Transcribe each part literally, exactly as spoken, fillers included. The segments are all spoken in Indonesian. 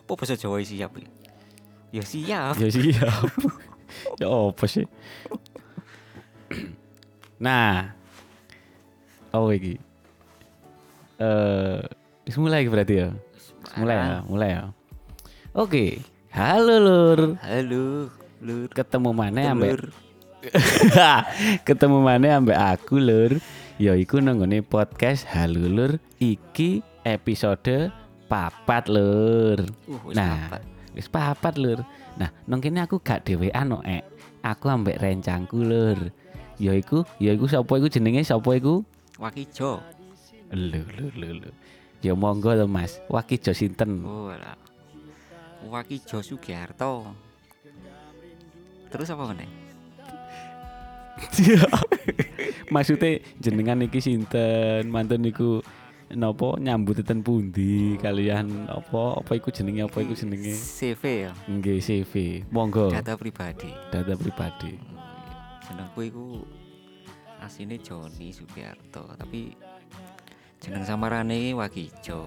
Apa bahasa Jawa siap? Ya siap. Ya siap. Ya apa sih? Nah, oh iki. Eh, wis mulai berarti ya. Mulai ya, mulai ya. Oke. Halo Lur. Halo, Lur. Ketemu mana ambek Lur. Ketemu mana ambek aku Lur. Ya iku nanggone podcast Halo Lur. Iki episode papat Lur. Uh, wis Nah, papat. wis papat Lur. Nah, nang kene aku gak dhewean kok, Ek. Aku ambek rencangku Lur. Ya iku, ya iku sapa iku jenenge sapa iku? Wakijo. Lho lho lho lho. Ya monggo to Mas. Wakijo sinten? Oh, lah. Wakijo Sugiarto. Terus apa meneh? Maksudnya jenengan iki sinten? Mantun niku napa nyambut ten pundi kalian apa apa iku jenenge apa iku jenenge? C V ya. Nggih C V. Monggo. Data pribadi. Data pribadi. Jenengku iku asline Joni Sugiarto, tapi jeneng samarane iki Wakijo.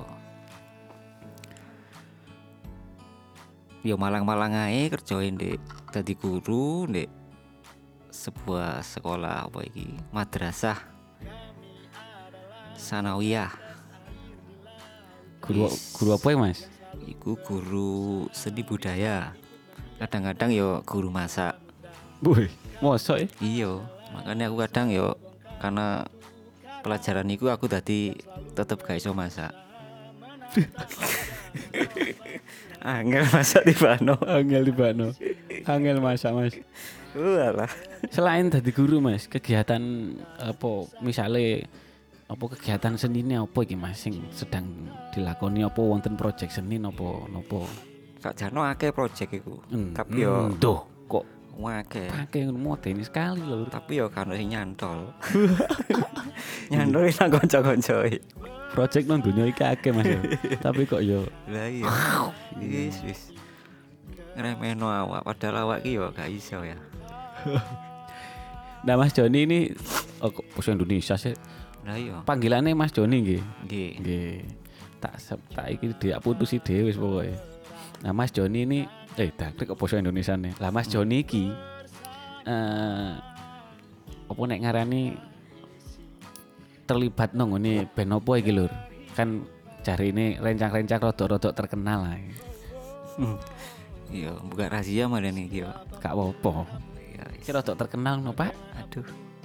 Yo malang-malang ae kerjain ndek dadi guru ndek sebuah sekolah apa iki madrasah sanawiyah. Guru guru apa ya Mas? Iku guru seni budaya. Kadang-kadang yo guru masak. Woi, mosok ya? Iya, makanya aku kadang yo karena pelajaran iku aku tadi tetep gak iso masak. Angel masak di Bano. Angel di Bano. Angel masak Mas. Walah. Selain tadi guru Mas, kegiatan apa misalnya apa kegiatan senine apa iki Mas sing sedang dilakoni apa wonten project seni napa napa? Kak Jano akeh project iku. Hmm, Tapi yo hmm, duh kok akeh. pakai modern sekali lho. Tapi yo kan sing nyantol. Nyantol nang kanca-kancoe. Project nang dunia iki akeh Mas ya. Tapi kok yo Lah iya. Wis wis. Ngremehno awak padahal awak ki yo gak iso ya. Nah Mas Joni ini oh, kok basa Indonesia sih. Lah iya. Panggilannya Mas Joni nggih. Nggih. Nggih. Tak tak iki dia putusi dhewe wis pokoke. Nah Mas Joni ini eh dak kok basa Indonesia nih. Lah Mas Joni iki eh apa nek ngarani terlibat nang ngene band apa iki Lur? Kan jarine rencang-rencang rodok-rodok terkenal lah. Iya, buka rahasia malah nih iki yo. Gak apa-apa. Ya, Iki rodok terkenal no, Pak. aduh.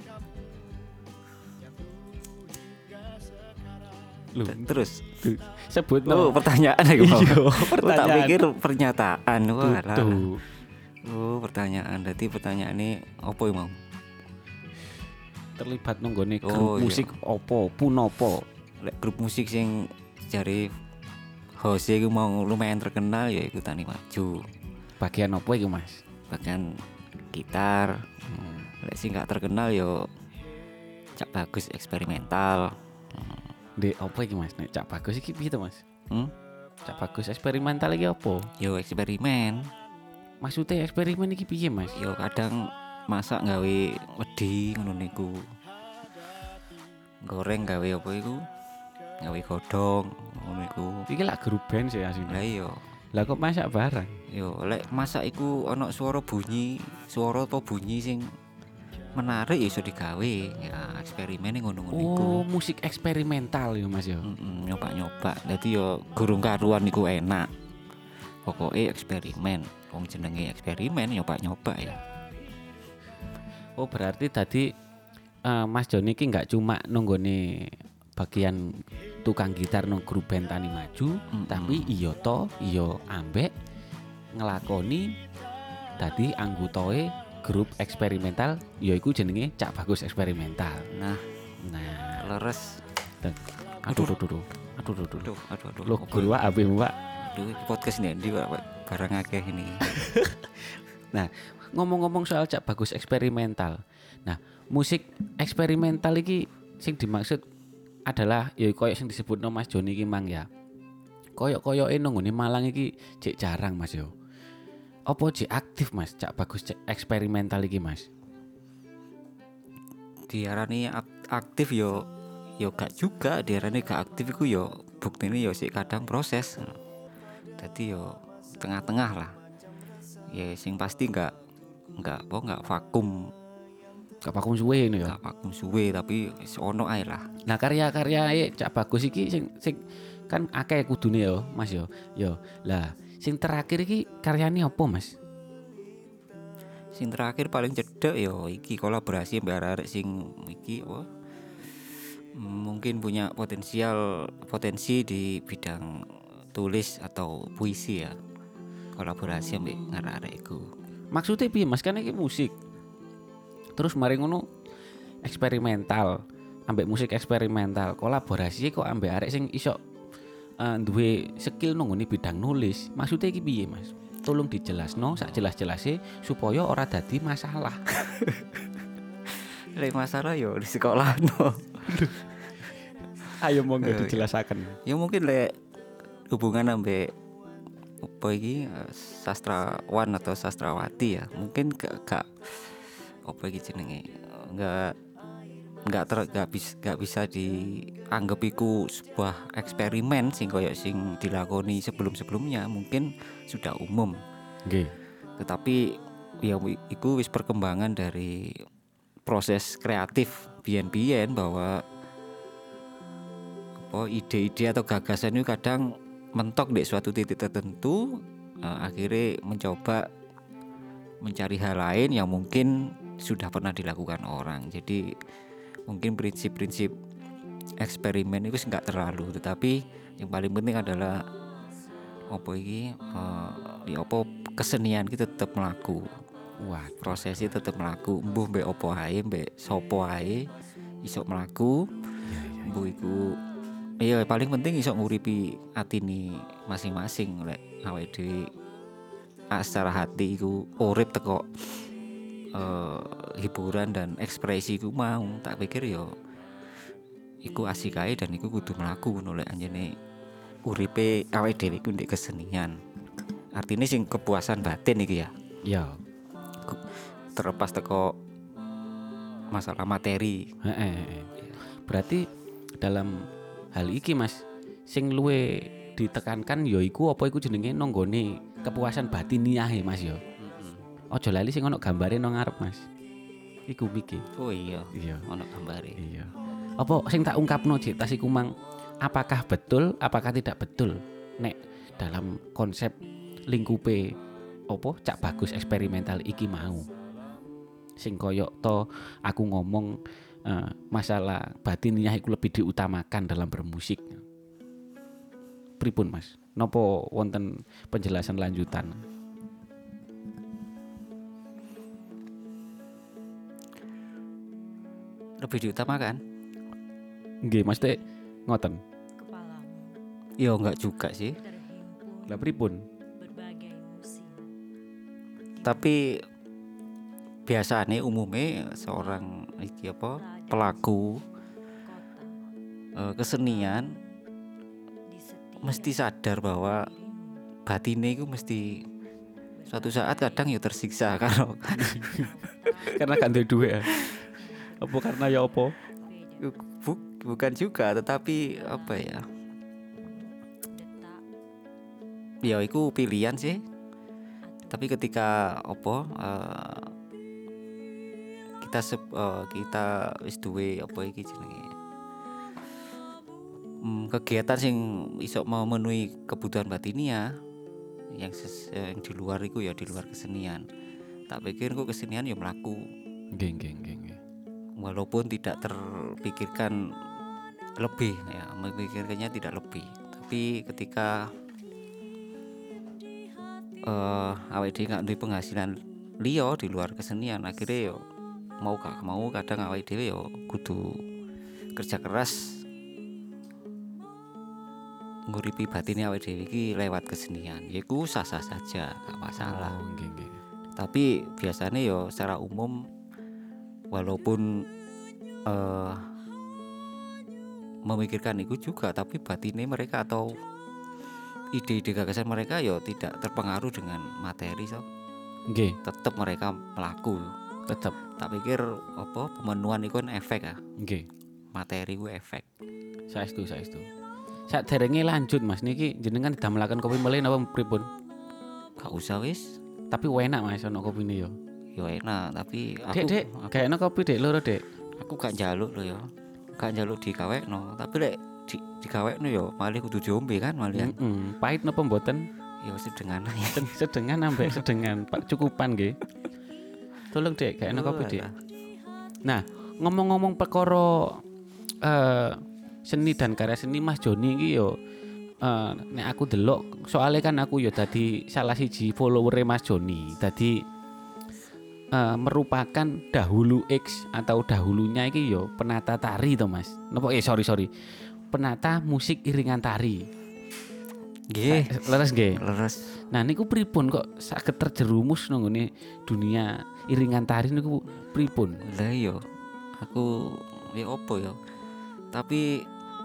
Lho, Terus sebut oh, no. pertanyaan lagi mau. Iya, Oh, tak pertanyaan. pikir pernyataan. Wah, lah. Tuh. Oh, pertanyaan. Berarti pertanyaan ini apa ya, Mau? Terlibat nang gone grup Oh, iya. musik opo, punopo. Lek grup musik sing jari host iku mau lumayan terkenal ya iku Tani Maju. Bagian opo iki, Mas? Bagian gitar. Hmm. Lek sing gak terkenal yo Cak Bagus eksperimental. Dek opo iki, Mas? Nek Cak Bagus iki piye to, Mas? Hmm? Cak Bagus eksperimental iki opo? Yo eksperimen. Maksudnya eksperimen iki piye, Mas? Yo kadang masak gawe wedi ngono niku. Goreng gawe apa iku? Gawe godhong ngono iku. Iki lak grup band sih asline. Lah iya. Lah kok masak barang? Yo lek masak iku ana suara bunyi, suara apa bunyi sing menarik ya iso digawe. Ya eksperimen ngono-ngono iku. Oh, musik eksperimental ya, Mas ya. Mm-mm, nyoba-nyoba. Dadi yo gurung karuan iku enak. Pokoke eksperimen. Wong jenenge eksperimen nyoba-nyoba ya. Oh, berarti tadi uh, Mas Joni iki enggak cuma nunggone bagian tukang gitar nang grup band Tani Maju, Mm-mm. tapi iya to, iya ambek ngelakoni tadi anggotae grup eksperimental yaiku jenenge Cak Bagus eksperimental. Nah, Nah, leres. aduh aduh aduh. Aduh aduh aduh. Aduh, aduh, aduh. Loh, guru Pak Abi, Pak. Aduh, podcast ini ndi Pak barang akeh ini. Ngomong-ngomong soal Cak Bagus eksperimental. Nah, musik eksperimental iki sing dimaksud adalah ya koyo sing disebutno Mas Joni iki mang ya. Koyok-koyoke nang ngene Malang iki jek jarang Mas yo. Apa jek aktif Mas Cak Bagus cek eksperimental iki Mas? Diarani ak- aktif yo yo gak juga, diarani gak aktif iku yo buktine yo sik kadang proses. Jadi yo tengah-tengah lah. Ya sing pasti enggak enggak apa enggak vakum, Gak vakum suwe ini ya. enggak vakum suwe tapi wis ono ae lah. Nah karya-karya Cak Bagus iki sing sing kan akeh kudune ya Mas yo. Yo. Lah sing terakhir iki karyane apa Mas? Sing terakhir paling cedek yo iki kolaborasi mbak arek sing iki apa? Mungkin punya potensial potensi di bidang tulis atau puisi ya. Kolaborasi ambek arek-arek iku. Maksudnya piye Mas? Kan iki musik. Terus mari ngono eksperimental, ambek musik eksperimental, kolaborasi kok ambek arek sing iso uh, duwe skill nang ngene bidang nulis. Maksudnya iki piye Mas? Tolong dijelasno sak jelas-jelase supaya ora dadi masalah. Lek masalah yo di sekolah no. Ayo monggo Eh, dijelasaken. Ya mungkin lek hubungan ambek apa iki eh, sastrawan atau sastrawati ya. Mungkin gak, gak apa iki jenenge enggak enggak ter enggak bisa enggak bisa dianggap iku sebuah eksperimen sing koyo sing dilakoni sebelum-sebelumnya, mungkin sudah umum. Nggih. Tetapi ya wi- iku wis perkembangan dari proses kreatif biyen-biyen bahwa apa ide-ide atau gagasan itu kadang mentok di suatu titik tertentu, eh, akhirnya mencoba mencari hal lain yang mungkin sudah pernah dilakukan orang. Jadi mungkin prinsip-prinsip eksperimen itu nggak terlalu, tetapi yang paling penting adalah apa iki eh, di apa kesenian kita tetap melaku, Wah, prosesnya tetap melaku, mbuh mbek opo ae mbek sopo ae iso melaku, mbuh iku iya paling penting iso nguripi atine masing-masing lek awake dhewe ah, secara hati iku urip teko eh, hiburan dan ekspresi iku mau, tak pikir yo iku asik ae dan iku kudu mlaku ngono lek anjene uripe awake dhewe iku ndek kesenian. Artinya sing kepuasan batin iki ya. ya. Terlepas teko masalah materi. Heeh. heeh. Berarti dalam hal iki Mas, sing luwe ditekankan ya iku apa iku jenenge nonggone kepuasan batiniah ya Mas ya. Ojo lali sing ono gambare nang ngarep Mas. Iku mikir. Oh iya, Iya. ono gambare. Iya. Apa sing tak ungkapno Cik tas iku mang apakah betul apakah tidak betul nek dalam konsep lingkupe apa Cak Bagus eksperimental iki mau. Sing koyo to aku ngomong eh, masalah batiniah iku lebih diutamakan dalam bermusik. Pripun Mas? Nopo wonten penjelasan lanjutan? Lebih diutamakan? Nggih, maksudnya ngoten. Kepalamu Ya enggak juga sih. terhimpun Lah pripun? berbagai musim. Tapi biasanya umumnya seorang iki apa pelaku Kota eh, kesenian di setiap mesti sadar bahwa dirimu batine itu mesti suatu saat kadang ya tersiksa kalau Karena kan duwe duwe ya. Apa karena ya apa? beda bu- bukan juga, tetapi apa ya, detak ya itu pilihan sih. Tapi ketika apa eh, kita sep- eh, kita wis duwe apa iki jenenge hmm, kegiatan sing iso memenuhi kebutuhan batinia yang ses- yang di luar iku ya di luar kesenian. Tak pikir kok kesenian ya melaku Nggih, nggih, nggih, nggih. walaupun tidak terpikirkan lebih ya, memikirkannya tidak lebih. Tapi ketika eh awake dhewe gak duwe penghasilan liya di luar kesenian, akhirnya yo mau gak mau kadang awake dhewe yo kudu kerja keras nguripi batinnya awake dhewe iki lewat kesenian. Yaiku sah-sah saja, gak masalah. Oh, nggih, nggih. Tapi biasanya yo secara umum walaupun eh memikirkan itu juga, tapi batinnya mereka atau ide-ide gagasan mereka yo tidak terpengaruh dengan materi, so Nggih, tetap mereka melaku. tetep. Tak pikir apa pemenuhan itu kan efek ya, Nggih. materi ku efek. Saestu, saestu. Saderenge lanjut Mas niki jenengan didamelaken kopi meleh napa pripun? Gak usah wis. Tapi enak Mas ono kopine yo. Yo enak, tapi aku Dek, Dek, aku, kayaknya kopi Dek loro Dek. aku gak njaluk lho ya. Gak njaluk digawekno, tapi lek di, digawekno yo malih kudu diombe kan malian. Heeh, pahit napa mboten? Yo sedengan ae. Sed- Sedengan ambek sedengan, Pak cukupan nggih. Tolong Dek, kayaknya kopi Dek. Walah. Nah, ngomong-ngomong perkara eh seni dan karya seni Mas Joni iki yo eh nek aku delok soalnya kan aku yo dadi salah siji follower Mas Joni. Dadi eh, merupakan dahulu X atau dahulunya iki yo penata tari to Mas. Napa eh sorry sorry. Penata musik iringan tari. Nggih, Eh, Leres nggih. leres. Nah niku pripun kok saged terjerumus nang ngene dunia iringan tari niku pripun? Lah yo aku ya opo yo. Tapi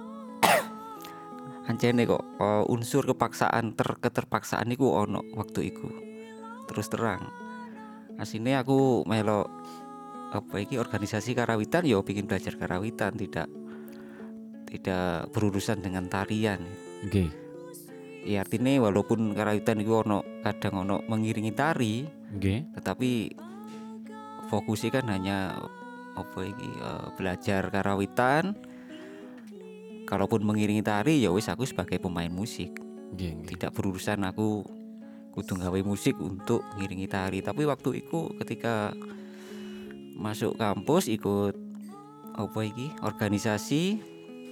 ancene kok uh, unsur kepaksaan ter keterpaksaan iku ono waktu iku. Terus terang. Asine aku melo apa iki organisasi karawitan yo bikin belajar karawitan, tidak tidak berurusan dengan tarian. Nggih. Ya artinya walaupun karawitan iku ono kadang ono mengiringi tari, Nggih. tetapi fokusnya kan hanya apa iki eh, belajar karawitan. Kalaupun mengiringi tari ya wis aku sebagai pemain musik, Nggih, nggih. tidak berurusan aku kudu gawe musik untuk ngiringi tari. Tapi waktu itu ketika masuk kampus ikut apa iki organisasi,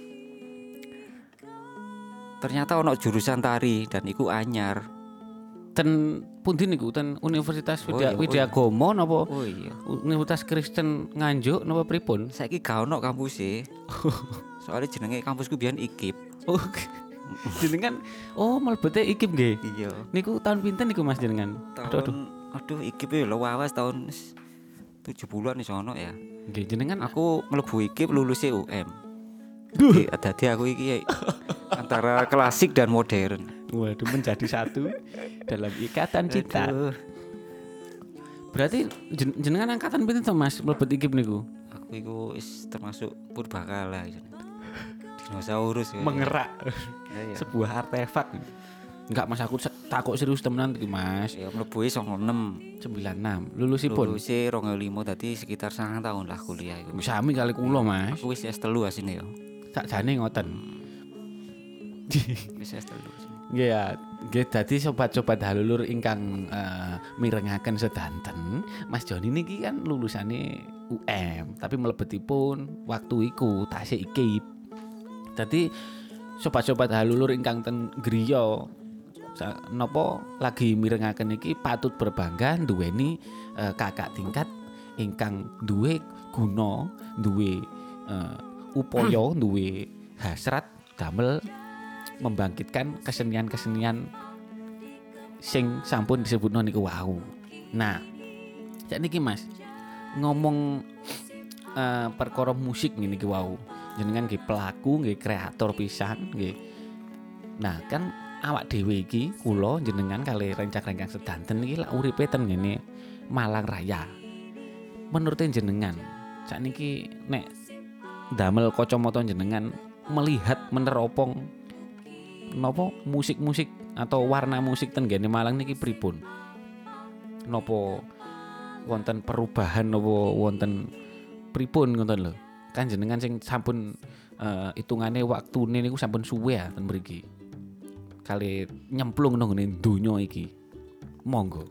ternyata ono jurusan tari dan iku anyar. Ten pundi niku ten Universitas Oh Widya iya, oh Widyagama napa Oh iya, Universitas Kristen Nganjuk napa pripun? saiki gak ono kampus e. Soalnya jenenge kampusku biyen I K I P. Oh. Jenengan oh mlebete I K I P nggih. Iya. Niku tahun pinten niku Mas jenengan? Aduh aduh. Tahun aduh I K I P lho lawas tahun tujuh puluhan wis ono ya. Nggih jenengan Aku mlebu I K I P lulus U M. Duh. Jadi dadi aku iki antara klasik dan modern. Waduh menjadi satu dalam ikatan cinta. Aduh, Berarti jen- jenengan angkatan pinten to Mas mlebet I K I P niku? aku iku wis termasuk purbakala ya. Dinosaurus ya. Mengerak Ya, ya. sebuah artefak. Enggak Mas aku se- takut serius temenan iki Mas. Ya mlebu e songo enam. sembilan enam lulusipun. Lulus e dua nol lima dadi sekitar sangang tahun lah kuliah iku. Sami kali kula Mas. Aku wis S telu asine ya. Sakjane ngoten. Wis S telu. Nggih ya, nggih dadi sobat-sobat halulur ingkang eh, mirengaken sedanten, Mas Joni niki kan lulusane U M, tapi mlebetipun waktu iku tasih I K I P. Dadi sobat-sobat halulur ingkang ten griya sa- napa lagi mirengaken iki patut berbangga duweni eh, kakak tingkat ingkang duwe guna, duwe eh, upaya, duwe hasrat damel membangkitkan kesenian-kesenian sing sampun disebutno niku wau. Nah, sakniki Mas, ngomong uh, perkara musik ngene iki wau. Jenengan nggih pelaku, nggih kreator pisan, nggih. Nah, kan awak dhewe iki kula jenengan kali rencang-rencang sedanten iki lak uripe ten ngene Malang Raya. Menurut jenengan, sakniki nek damel kacamata jenengan melihat meneropong napa musik-musik atau warna musik ten gene Malang niki pripun? Napa wonten perubahan napa wonten pripun ngoten lho. Kan jenengan sing sampun uh, hitungane waktune niku sampun suwe ya ten mriki. Kali nyemplung nang ngene donya iki. Monggo.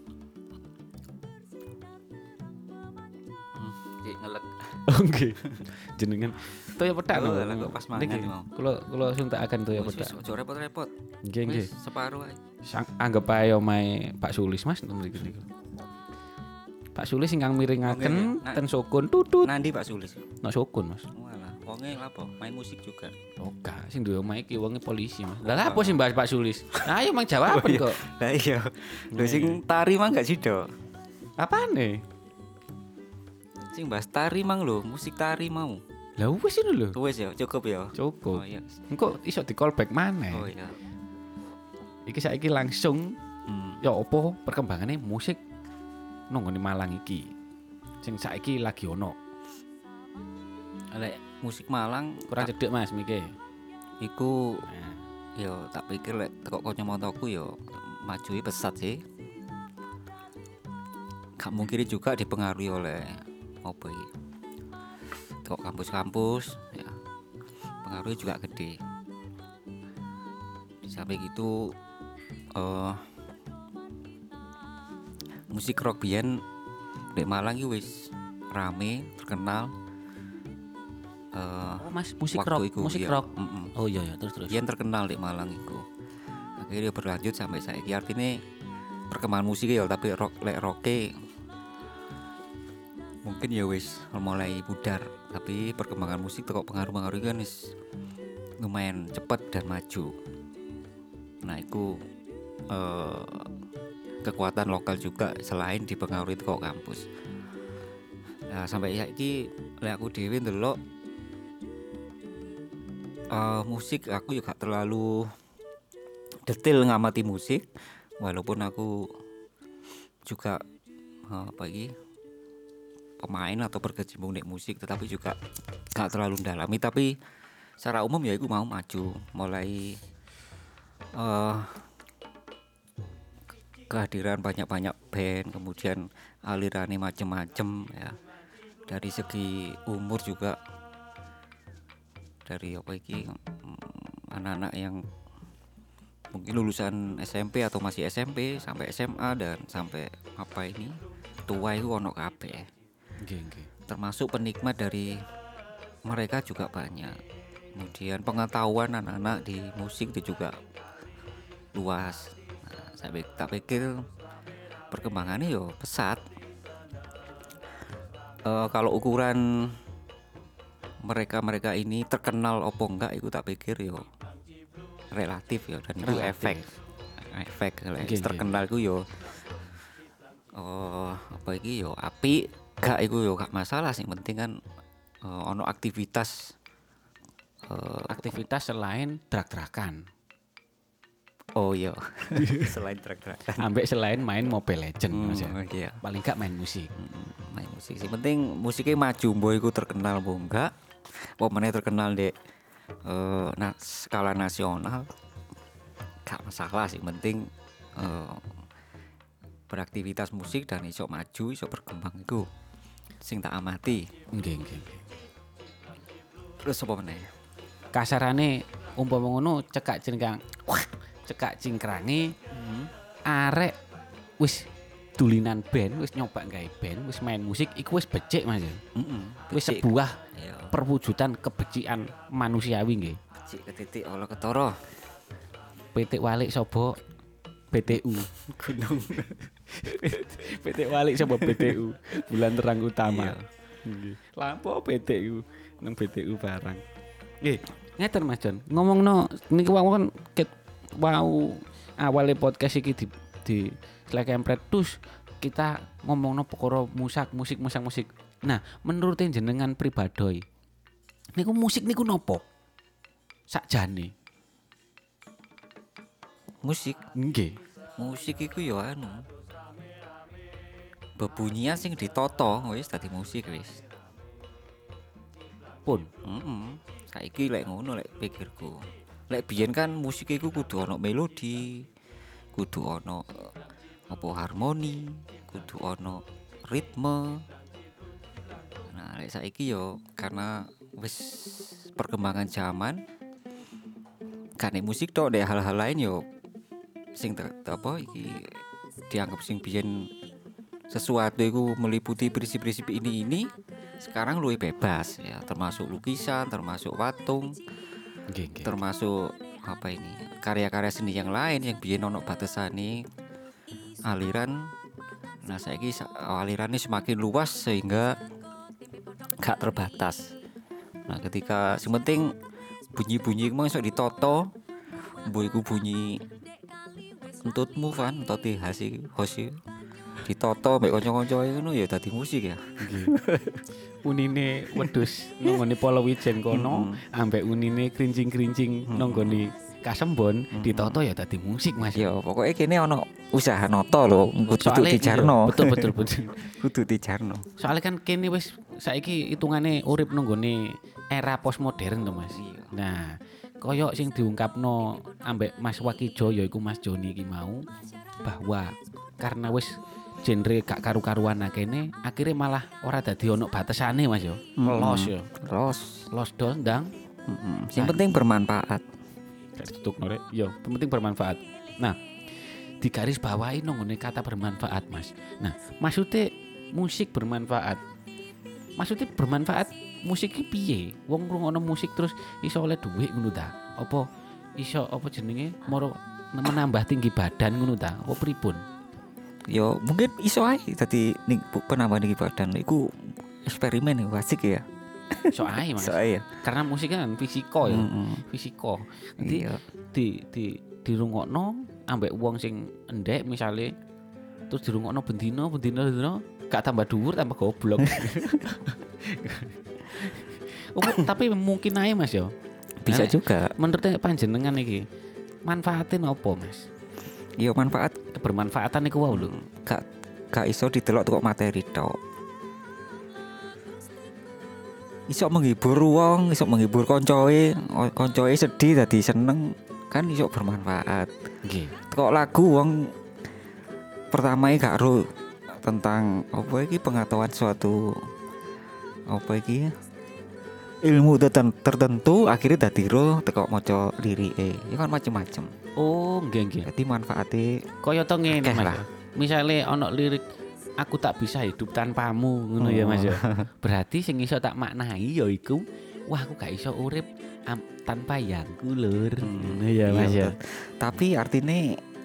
Iki ngelek. Oke. Jenengan toya petak Oh, no. lah, kok pas mangan Niki, iki mau. Kula kula suntakaken toya Wis, petak. wis, Ojo repot-repot. Nggih nggih. Wis separuh ae. Sang- anggap ae omahe Pak Sulis Mas ten mriki niku. Pak Sulis ingkang miringaken Oke, oke. Nah. ten sukun tutut. Nandi Pak Sulis. Nok sukun Mas. Walah, wonge lapo? Main musik juga. Oke, sing duwe omahe iki wonge polisi Mas. Lah apa sih Mbak Pak Sulis? Nah, ayo mang jawaban kok. Lah iya. Lho sing tari mah gak sido. Apane? Sing bahas tari mang lho, musik tari mau. Lah wis ini lho. Wis ya, cukup ya. Cukup. Oh iya. Engko iso di callback maneh. Oh iya. Iki saiki langsung Hmm. ya apa perkembangannya musik nang ngene Malang iki. Sing saiki lagi ono. Lek musik Malang Kurang cedek Mas miki. Iku Nah, yo tak pikir lek teko kacamataku yo majui pesat sih. Gak mungkin juga dipengaruhi oleh apa iki. Teko kampus-kampus ya. Pengaruhnya juga gede. Di samping itu eh musik rock biyen di Malang iki wis rame, terkenal. Eh oh Mas, musik waktu rock, iku, musik iya. rock. Mm-mm. Oh iya ya, terus terus. Biyen terkenal di Malang iku. Akhirnya berlanjut sampai saiki artinya perkembangan musik ya tapi rock lek rocke mungkin ya wis mulai pudar tapi perkembangan musik teko pengaruh-pengaruh kan wis lumayan cepat dan maju. Nah itu eh, kekuatan lokal juga selain dipengaruhi teko kampus. Nah sampai saiki lek aku dhewe ndelok eh, musik aku juga terlalu detail ngamati musik walaupun aku juga eh, apa iki pemain atau berkecimpung di musik tetapi juga gak terlalu mendalami tapi secara umum ya aku mau maju mulai eh kehadiran banyak-banyak band kemudian alirannya macem-macem ya dari segi umur juga dari apa iki mm, anak-anak yang mungkin lulusan S M P atau masih S M P sampai S M A dan sampai apa ini tua itu ono kabeh. Nggih, nggih. Termasuk penikmat dari mereka juga banyak. Kemudian pengetahuan anak-anak di musik itu juga luas. Nah, saya pik- tak pikir perkembangannya yo pesat. Eh, kalau ukuran mereka-mereka ini terkenal opo enggak itu tak pikir yo relatif ya dan itu Relatif. efek efek lek Nggih, nggih. terkenal ku yo oh apa iki yo apik gak iku yo gak masalah sih penting kan eh, ono aktivitas eh, Aktivitas selain drag-dragan. oh iya selain track-trackan Ambek selain main Mobile Legend Mas ya. hmm, iya Paling gak main musik. Mm, main musik sih penting musiknya maju mbok iku terkenal mbok enggak apa meneh terkenal di eh, nah skala nasional gak masalah sih penting eh, beraktivitas musik dan iso maju iso berkembang itu sing tak amati. Nggih, nggih, nggih. Terus apa meneh Kasarane umpama ngono cekak cingkrang. Wah, cekak cingkrange arek wis dulinan band, wis nyoba gawe band, wis main musik iku wis becik Mas. ya. heeh Wis sebuah ya perwujudan kebecikan manusiawi nggih. becik ketitik Allah ketara Pitik walik sapa B T U. gunung Pitik walik sapa B T U. Bulan terang utama. Iya. Nggih. Lampu B T U nang B T U barang. Nggih, ngeten Mas Jon. Ngomongno niku wau kan ket wau awale podcast iki di di Slack Empret terus kita ngomongno perkara musik musik musik musik. Nah, menurut jenengan pribadi niku musik niku nopo? Sakjane. musik Nggih. musik iku ya anu bebunyian sing ditoto wis dadi musik wis Pun heeh saiki lek ngono lek pikirku lek biyen kan musik iku kudu ana melodi kudu ana eh, apa harmoni kudu ana ritme nah lek saiki yo karena wis perkembangan zaman kan nek musik tok dek hal-hal lain yo sing ter- apa iki dianggap sing biyen sesuatu itu meliputi prinsip-prinsip ini ini sekarang luwih bebas ya termasuk lukisan termasuk patung nggih nggih. termasuk apa ini karya-karya seni yang lain yang biyen ono batasane aliran nah saiki sa- alirannya semakin luas sehingga gak terbatas nah ketika sing penting bunyi-bunyi mau iso ditoto mbok iku bunyi entutmu kan entut hasi hosi ditoto mbek kanca-kanca ngono ya dadi musik ya Unine wedhus nonggone Polowijen kono ambek unine krincing-krincing nonggone Kasembon ditoto ya dadi musik Mas. ya pokoknya kene ono usaha noto lho kudu Soale- dijarno iya, betul betul betul. kudu dijarno Soalnya kan kene wis saiki hitungane urip nonggone era postmodern to Mas. Iya. Nah, koyo sing diungkapno ambek Mas Wakijo yaiku Mas Joni iki mau bahwa karena wis genre gak karu-karuan akene akhirnya malah ora dadi ono batesane Mas yo. Los yo. Los. Los dol ndang. Mm-mm. Yang penting bermanfaat. Gak tutup norek. Yo, penting bermanfaat. Nah, di garis bawahi nongone kata bermanfaat, Mas. Nah, maksudnya musik bermanfaat. Maksudnya bermanfaat musik iki piye? Wong ngrungokno musik terus iso oleh dhuwit ngono ta? Apa iso apa jenenge moro menambah tinggi badan ngono ta? Apa pripun? Yo mungkin iso ae dadi ning penambah tinggi badan iku eksperimen ya asik ya. Iso ae, Mas. Iso ae ya. Karena musik kan fisiko ya. Mm-mm. Fisiko. Nanti Iya. di di dirungokno ambek wong sing endek misale terus dirungokno bendino bendino bendino gak tambah dhuwur tambah goblok. Oh, tapi mungkin aja Mas yo. Bisa Nah, juga. menurut panjenengan iki manfaatin apa Mas? Yo manfaat Kebermanfaatan iku wae lho. gak gak iso didelok kok materi tok. Iso menghibur wong, iso menghibur koncoe, o- koncoe sedih dadi seneng kan iso bermanfaat. Nggih. Kok lagu wong pertama gak ro tentang apa iki pengetahuan suatu apa iki ilmu terten- tertentu akhirnya dadi ro teko maca lirike. Ya kan macem-macem. Oh, nggih nggih. Jadi manfaatnya Kaya to ngene Akeh Mas. lah. ya. Misale ana lirik aku tak bisa hidup tanpamu ngono ya Mas ya. Berarti sing iso tak maknai ya iku wah aku gak iso urip am- tanpa yangku lur. Ngono ya Mas ya. betul. Tapi artinya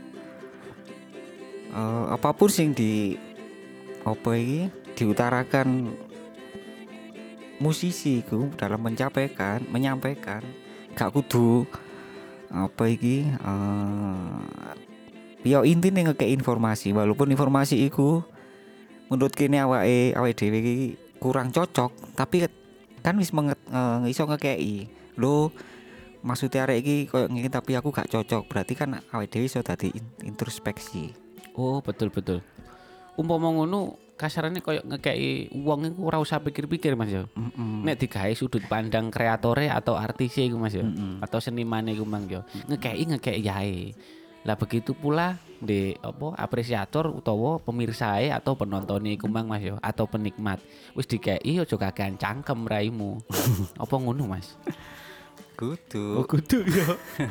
eh, apapun sing di apa iki diutarakan musisi ku dalam menyampaikan menyampaikan gak kudu apa iki eh ya intine ngekek informasi walaupun informasi iku menurut kene awake awake dhewe iki kurang cocok tapi kan wis menget, eh, iso ngekeki lho maksudnya arek iki koyo ngene tapi aku gak cocok berarti kan awake dhewe iso dadi in- introspeksi. Oh, betul betul. Umpama ngono kasarane koyo ngekeki wong iku ora usah pikir-pikir Mas ya. Mm-mm. Nek digawe sudut pandang kreatore atau artise iku Mas ya. Mm-mm. Atau senimane iku Mang ya. Ngekeki ngekeki yae. Lah begitu pula di apa apresiator utawa pemirsae atau penontonnya iku Mang Mas ya atau penikmat. Wis dikeki aja kakean cangkem raimu. Apa ngono Mas? Kudu. kudu ya.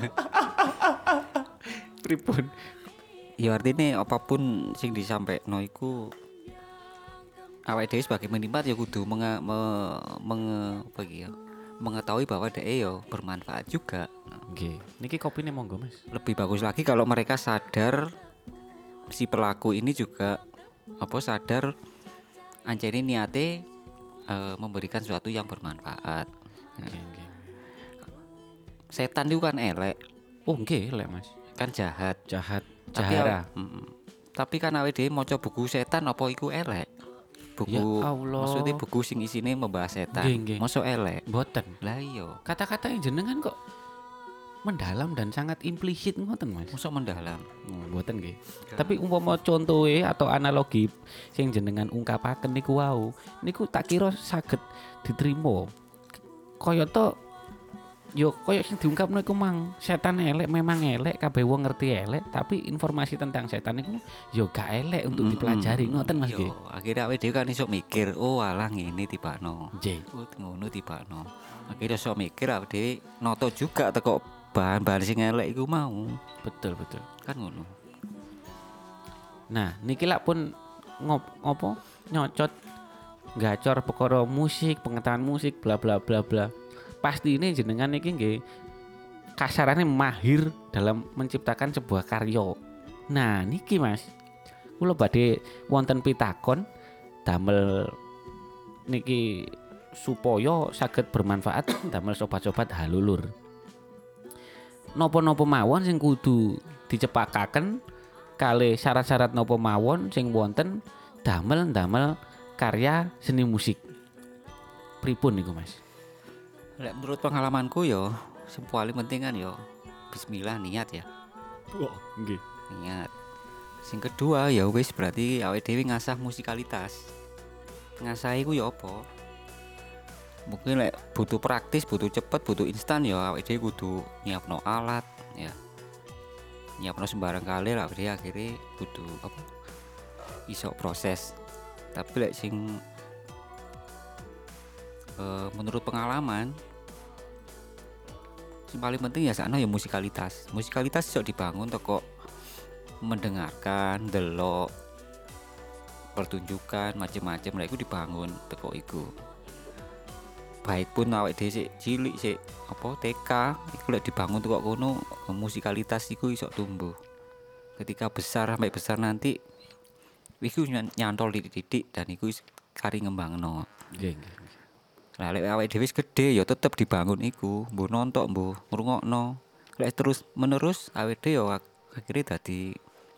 Pripun? Ya artinya apapun sing disampaikan iku awake dhewe sebagai penikmat ya kudu menga, me, menge, apa iki ya, mengetahui bahwa dia ya bermanfaat juga. Nggih. Niki kopine monggo Mas. Lebih bagus lagi kalau mereka sadar si pelaku ini juga apa sadar ancene niate eh, memberikan sesuatu yang bermanfaat. Nggih, nggih. Setan itu kan elek, Oh nggih lek Mas. kan jahat. Jahat, Tapi jahara. aw- mm, tapi kan awake dhewe maca buku setan apa iku elek? Buku Ya Allah. maksudnya buku sing isine membahas setan. Nggih, nggih. Mosok elek. Mboten. Lah iya, Kata-kata yang jenengan kok mendalam dan sangat implisit ngoten Mas. mosok mendalam. Oh, mboten nggih. Tapi umpama contohe atau analogi sing jenengan ungkapaken niku wau, niku tak kira saged diterima. Kaya to yo kaya sing diungkapno iku mang setan elek memang elek kabeh wong ngerti elek tapi informasi tentang setan niku yo gak elek untuk dipelajari ngoten Mas nggih. Yo, akhirnya awake dhewe kan iso mikir, oh alah ngene tibakno. Nggih. Oh ngono tibakno. Akhirnya iso mikir awake dhewe noto juga teko bahan-bahan sing elek iku mau. Betul betul. Kan ngono. Nah, niki lak pun ngop ngopo nyocot gacor perkara musik, pengetahuan musik bla bla bla bla. Pasti ini jenengan niki nggih kasarannya mahir dalam menciptakan sebuah karya. Nah, niki Mas. Kula badhe wonten pitakon damel niki supaya saged bermanfaat damel sobat-sobat halulur. Napa-napa mawon sing kudu dicepakaken kalih syarat-syarat napa mawon sing wonten damel-damel karya seni musik. Pripun niku Mas? Lek menurut pengalamanku yo, sing paling penting kan yo bismillah niat ya. Oh, nggih. Niat. Sing kedua ya wis berarti awake dhewe ngasah musikalitas. Ngasah iku ya apa? mungkin lek butuh praktis, butuh cepet, butuh instan ya awake dhewe kudu nyiapno alat ya. Nyiapno sembarang kali lah dia akhirnya kudu apa iso proses. Tapi lek sing uh, menurut pengalaman sing paling penting ya sakno ya musikalitas. Musikalitas iso dibangun teko mendengarkan, delok pertunjukan macam-macam lek iku dibangun teko iku. Baik pun awake dhewe sik cilik sik apa T K iku lek dibangun teko kono musikalitas iku iso tumbuh. Ketika besar sampai besar nanti iku nyantol titik-titik dan iku kari ngembangno. Nggih, nggih. Lah lek awake dhewe wis gedhe ya tetep dibangun iku, mbuh nontok mbuh ngrungokno. Lek terus menerus awake dhewe ya akhire dadi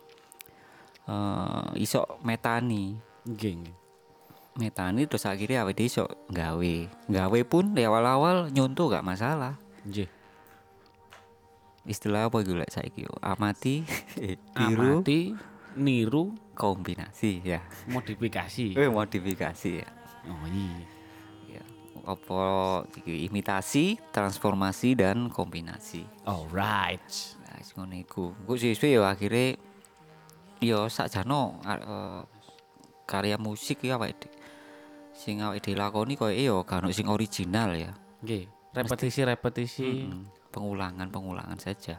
uh, iso metani. Nggih, nggih. Metani terus akhirnya awake dhewe iso gawe. Gawe pun di awal-awal nyontoh gak masalah. Nggih. Istilah apa iku lek saiki yo? Amati, tiru, Amati, niru, kombinasi ya. modifikasi. Eh modifikasi ya. Oh iya. Ya. Apa iki imitasi, transformasi dan kombinasi. Alright. Nah, wis ngono iku. Engko suwe-suwe yo akhire yo sakjano uh, karya musik ya awake dhewe. Sing awake dhewe lakoni koyo yo gak ono sing original ya. Nggih. Repetisi-repetisi. Mm-mm. Pengulangan-pengulangan saja.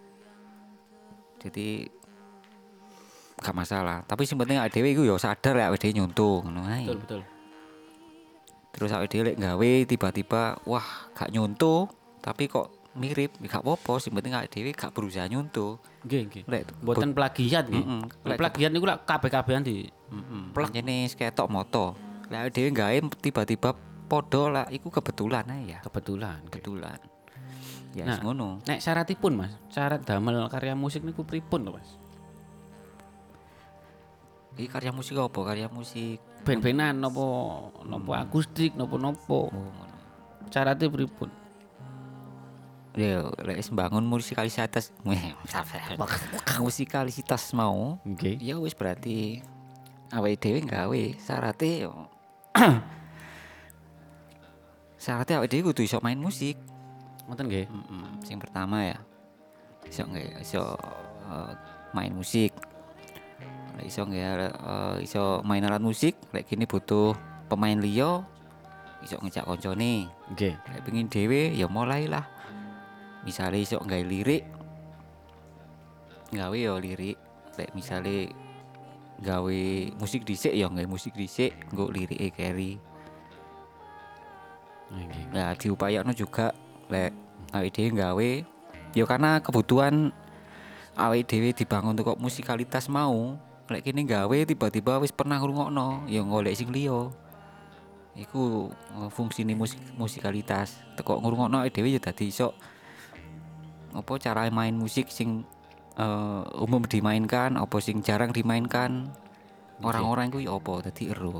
Jadi gak masalah. Tapi sing penting awake dhewe iku yo sadar lek awake dhewe nyontoh ngono ae. Betul, betul. Terus awake dhewe lek gawe tiba-tiba wah gak nyontoh tapi kok mirip gak apa-apa, sing penting awake dhewe gak berusaha nyontoh. Nggih, nggih. Lek Mboten plagiat nggih. Mm-mm. Lek plagiat niku lak kabeh-kabehan di heeh. Pancene ketok moto. Lek awake dhewe gawe tiba-tiba padha lah iku kebetulan ae ya. kebetulan. nggih. Kebetulan. Ya Nah, wis ngono. Nek syaratipun Mas, syarat damel karya musik niku pripun to Mas? Iki karya musik apa? Karya musik Ben-benan napa napa akustik napa napa? oh ngono. Syaratnya pripun? Ya lek wis bangun musikalitas musikalitas mau Nggih. ya wis berarti awake dhewe gawe syaratnya yo syaratnya awake dhewe kudu iso main musik. Ngoten nggih. Mm-mm. Sing pertama ya iso nggak iso uh, main musik. Lek iso nggak uh, iso main alat musik lek kene butuh pemain liya iso ngejak koncone. Nggih. Lek pengin dhewe ya mulailah. Misale iso nggawe lirik gawe ya lirik. Lek misale gawe musik dhisik ya gawe musik dhisik nggo lirike carry. Nggih. Nah diupayakno juga lek awake dhewe gawe ya karena kebutuhan awake dhewe dibangun kok musikalitas mau lek kene gawe tiba-tiba wis pernah ngrungokno ya golek sing liya iku uh, fungsine musik musikalitas teko ngrungokno awake dhewe ya dadi iso apa cara main musik sing uh, umum dimainkan apa sing jarang dimainkan orang-orang iku ya apa dadi ero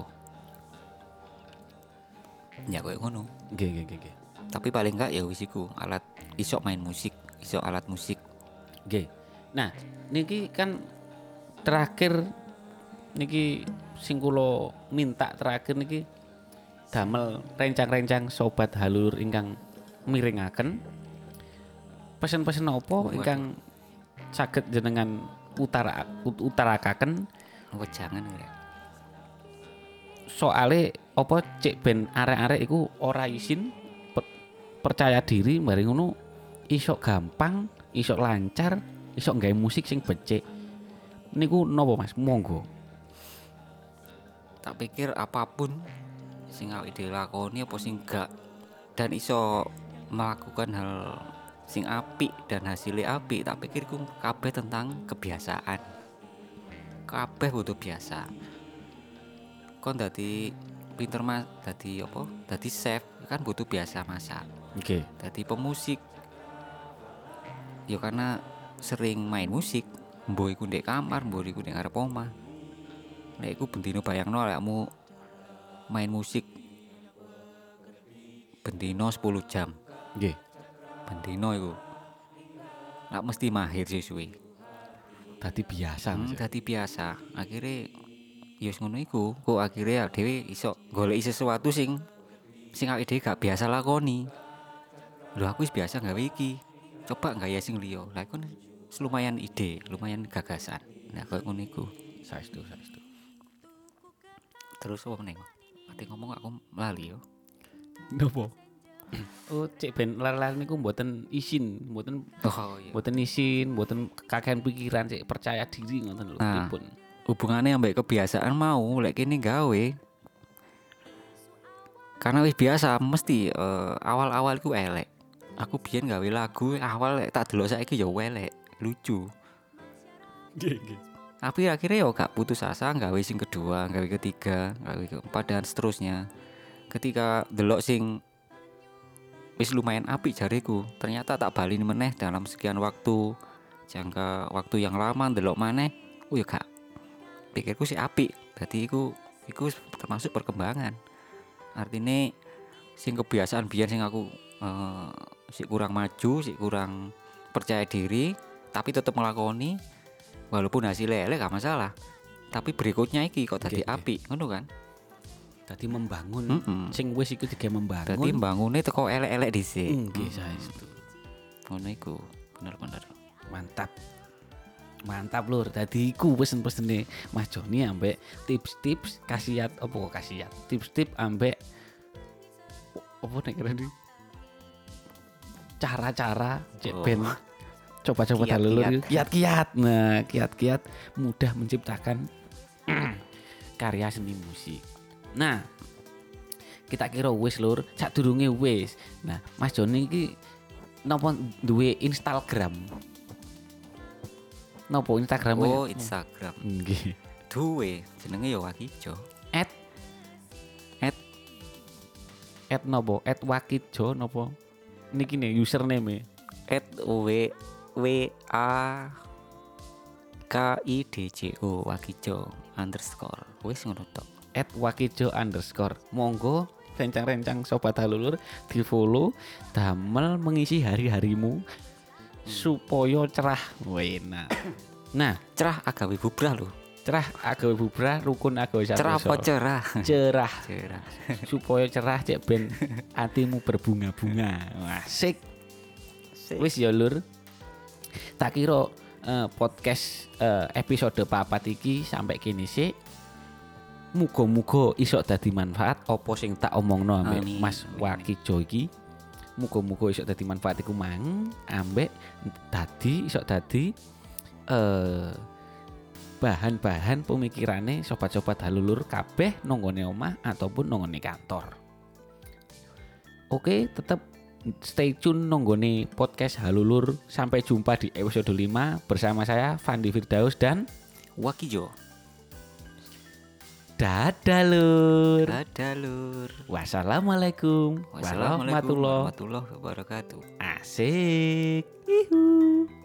ya koyo ngono. Nggih, nggih, nggih, nggih. Tapi paling enggak ya wis iku alat iso main musik, iso alat musik. Nggih. Nah, niki kan terakhir niki sing kula minta terakhir niki damel rencang-rencang sobat halur ingkang miringaken pesen-pesen apa ingkang saged jenengan utara ut- utarakaken Oh jangan ya. soale apa cek ben arek-arek iku ora isin per- percaya diri mari ngono iso gampang, iso lancar, iso nggawe musik sing becik. Niku napa Mas? Monggo. Tak pikir apapun sing awake dhewe lakoni apa sing gak dan iso melakukan hal sing apik dan hasilnya apik, tak pikir ku kabeh tentang kebiasaan. Kabeh butuh biasa. Kon dadi pinter mas, dadi apa? Dadi chef kan butuh biasa masak. Oke. Dadi pemusik ya karena sering main musik, mbok iku ndek kamar, mbok iku ndek ngarep omah. Nek iku bendino bayangno awakmu main musik bendino sepuluh jam. Nggih. Bendino iku. Nak mesti mahir suwe-suwe. Dadi biasa Hmm, Mas. dadi biasa. Akhire ya wis ngono iku, kok akhire dhewe iso goleki sesuatu sing sing awake dhewe gak biasa lakoni. Lho aku wis biasa gawe iki. Coba gaya sing liya. Lah iku lumayan ide, lumayan gagasan. Nah koyo ngono iku. Saestu, saestu. Terus apa meneh? Ati ngomong aku lali yo. Nopo? Oh, cek ben lar-lar niku mboten isin, mboten Oh iya. mboten isin, mboten kakehan pikiran, cek percaya diri ngoten lho Nah. dipun. Hubungannya ambek kebiasaan mau lek kene gawe. Karena wis biasa mesti eh, awal-awal ku elek. Aku biyen gawe lagu awal lek tak delok saiki ya elek, lucu. Nggih, nggih. Tapi akhirnya yo gak putus asa gawe sing kedua, gawe ketiga, gawe keempat dan seterusnya. Ketika delok sing wis lumayan apik jariku, ternyata tak balini meneh dalam sekian waktu, jangka waktu yang lama delok maneh, oh ya gak. Pikirku sih apik. Dadi iku iku termasuk perkembangan. Artinya sing kebiasaan biyen sing aku eh, sik kurang maju, sik kurang percaya diri, tapi tetep ngelakoni walaupun hasilnya elek gak masalah. Tapi berikutnya iki kok dadi Oke, oke. apik, ngono kan? Tadi membangun Mm-mm. sing wis iku digawe membangun. Dadi mbangune teko elek-elek dhisik. nggih saestu. Ngono iku, bener-bener. Mantap. Mantap lur. Dadi iku pesen-pesene Mas Joni ambek tips-tips khasiat apa kok khasiat? Tips-tips ambek apa nek kira cara-cara cek Oh. ben coba-coba Kiat-kiat. dalur kiat-kiat. Nah, kiat-kiat mudah menciptakan karya seni musik. Nah, kita kira wis lur, sadurunge wis. Nah, Mas Joni iki napa duwe Instagram? Napa Instagram? Oh, Instagram. Nggih. Duwe jenenge ya Wakijo. At At at napa? At Wakijo napa? Niki nih username. at w w a k i d j o Wakijo underscore. Wis ngono tok. At Wakijo underscore. Monggo rencang-rencang sobat halulur di follow damel mengisi hari-harimu supaya cerah. Wena. Nah, Cerah agawe bubrah lho. cerah agawe bubrah rukun agawe Cerah apa santoso. cerah? Cerah Cerah. supaya cerah cek ben hatimu berbunga-bunga. Wah, asik. Wis ya lur. Tak kira eh, podcast eh, episode papat iki sampai kini sih. Muga-muga iso dadi manfaat apa sing tak omongno ambek Amin. Mas Wakijo iki. Muga-muga iso dadi manfaat iku mang ambek dadi iso dadi eh bahan-bahan pemikirane sobat-sobat halulur kabeh nonggone omah ataupun nonggone kantor. Oke, tetap stay tune nonggone podcast halulur. Sampai jumpa di episode lima bersama saya Fandi Firdaus dan Wakijo. dadah lur. Dadah lur. Wassalamualaikum Wassalamualaikum warahmatullahi warahmatullahi wabarakatuh. Asik. Ihu.